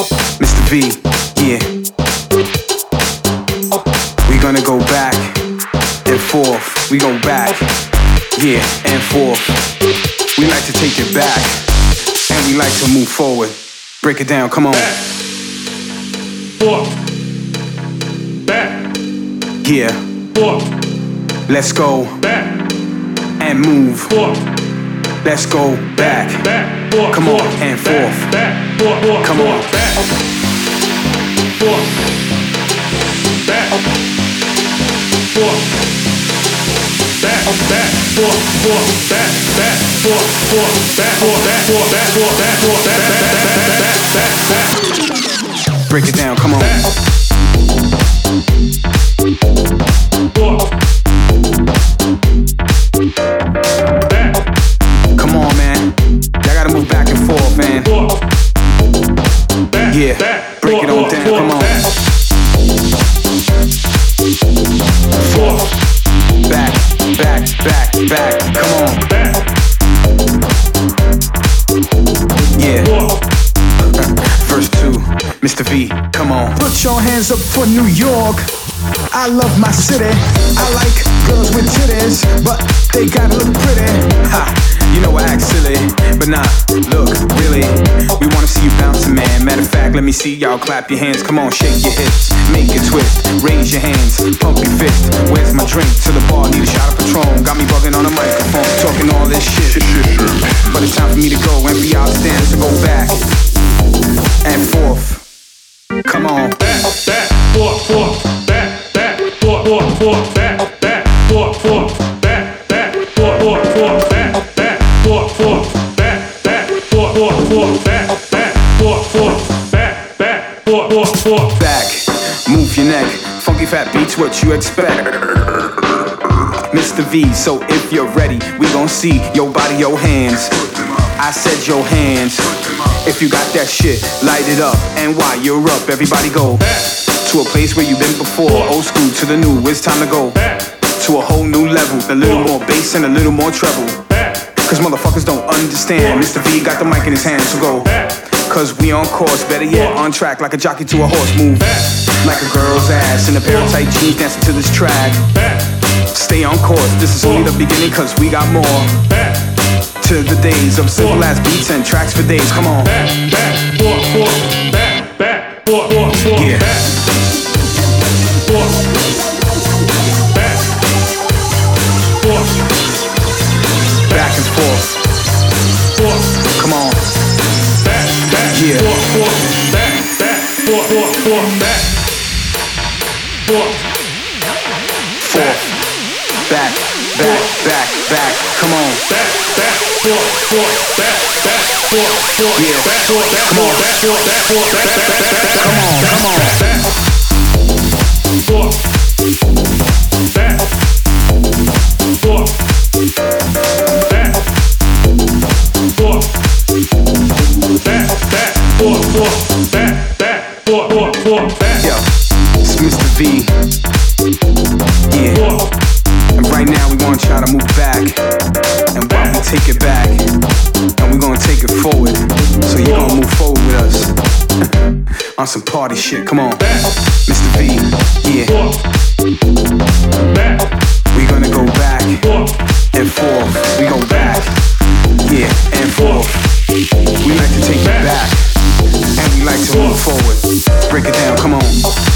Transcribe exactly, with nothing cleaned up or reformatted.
Mister V, yeah. We gonna go back and forth. We go back, yeah, and forth. We like to take it back, and we like to move forward. Break it down, come on. Back, forth, back, yeah, forth, let's go back, and move. forth, Let's go back, back, forth, come on, forth, and back, forth. back, forth, forth, Come on. forth, back, forth, back, forth, back, back, forth, forth, back, back, forth, forth, back, forth, back, forth, back, forth, back, forth, back, back, back, back, back, back. Break it down, come on. Back, forth, back, Come on, man. Y'all gotta move back and forth, man. forth, back, Yeah, back, break it forth, on down, forth, come on. back, forth, Back, back, back, back. Come on. back, Yeah. forth. Verse two, Mister V, come on. Put your hands up for New York. I love my city. I like girls with titties, but they gotta look pretty. Ha, you know I act silly, but nah, look, really, we wanna see you bouncing, man. Matter of fact, let me see y'all clap your hands. Come on, shake your hips, make it twist, raise your hands, pump your fist. Where's my drink? To the bar, need a shot of Patron. Got me bugging on a microphone, talking all this shit. But it's time for me to go and for y'all to stand to go back and forth. Come on. Back, back, forth, forth, back, back, forth, forth, forth, back, back, forth, forth, back, back, forth, forth, forth, back, back, forth, forth, back, back, forth, forth, forth, back, back, forth, forth, back, back, forth, forth, forth. Back, move your neck. Funky fat beats, what you expect? Mister V, so if you're ready, we gon' see your body, your hands. I said your hands. If you got that shit, light it up. And while you're up, everybody go Back, to a place where you've been before. Old school to the new, it's time to go back, to a whole new level. A little more bass and a little more treble. back, Cause motherfuckers don't understand. Mister V got the mic in his hand, so go. back, Cause we on course, better yet, on track like a jockey to a horse. Move like a girl's ass in a pair of tight jeans dancing to this track. back, Stay on course, this is only the beginning cause we got more. back, To the days of simple ass beats and tracks for days, come on. back, back, forth, forth, back, back, forth, forth, forth, Yeah. back, forth, back, forth, Back and forth, forth, come on. back, back, Yeah. forth, forth, back, back, forth, forth, forth, back, forth, Forth, back, back, back, back, come on. back, back, forth, forth, back, back, forth, forth, Yeah. back, forth, back, Come on. forth, back, forth, back, forth, back, back, back, back, back, Come on, come on. back, forth, back, forth, back, forth, back, back, forth, forth, back, back, forth, forth, forth, back, Yo, it's Mister V. Yeah, forth, and right now we gonna try to move back. And while we take it back, and we gonna take it forward. So you gonna move forward with us. On some party shit, come on. Mister V, yeah. forth, back, We gonna go back forth, and forth. We go back, yeah, and forth. We like to take it back, and we like to move forward. Break it down, come on.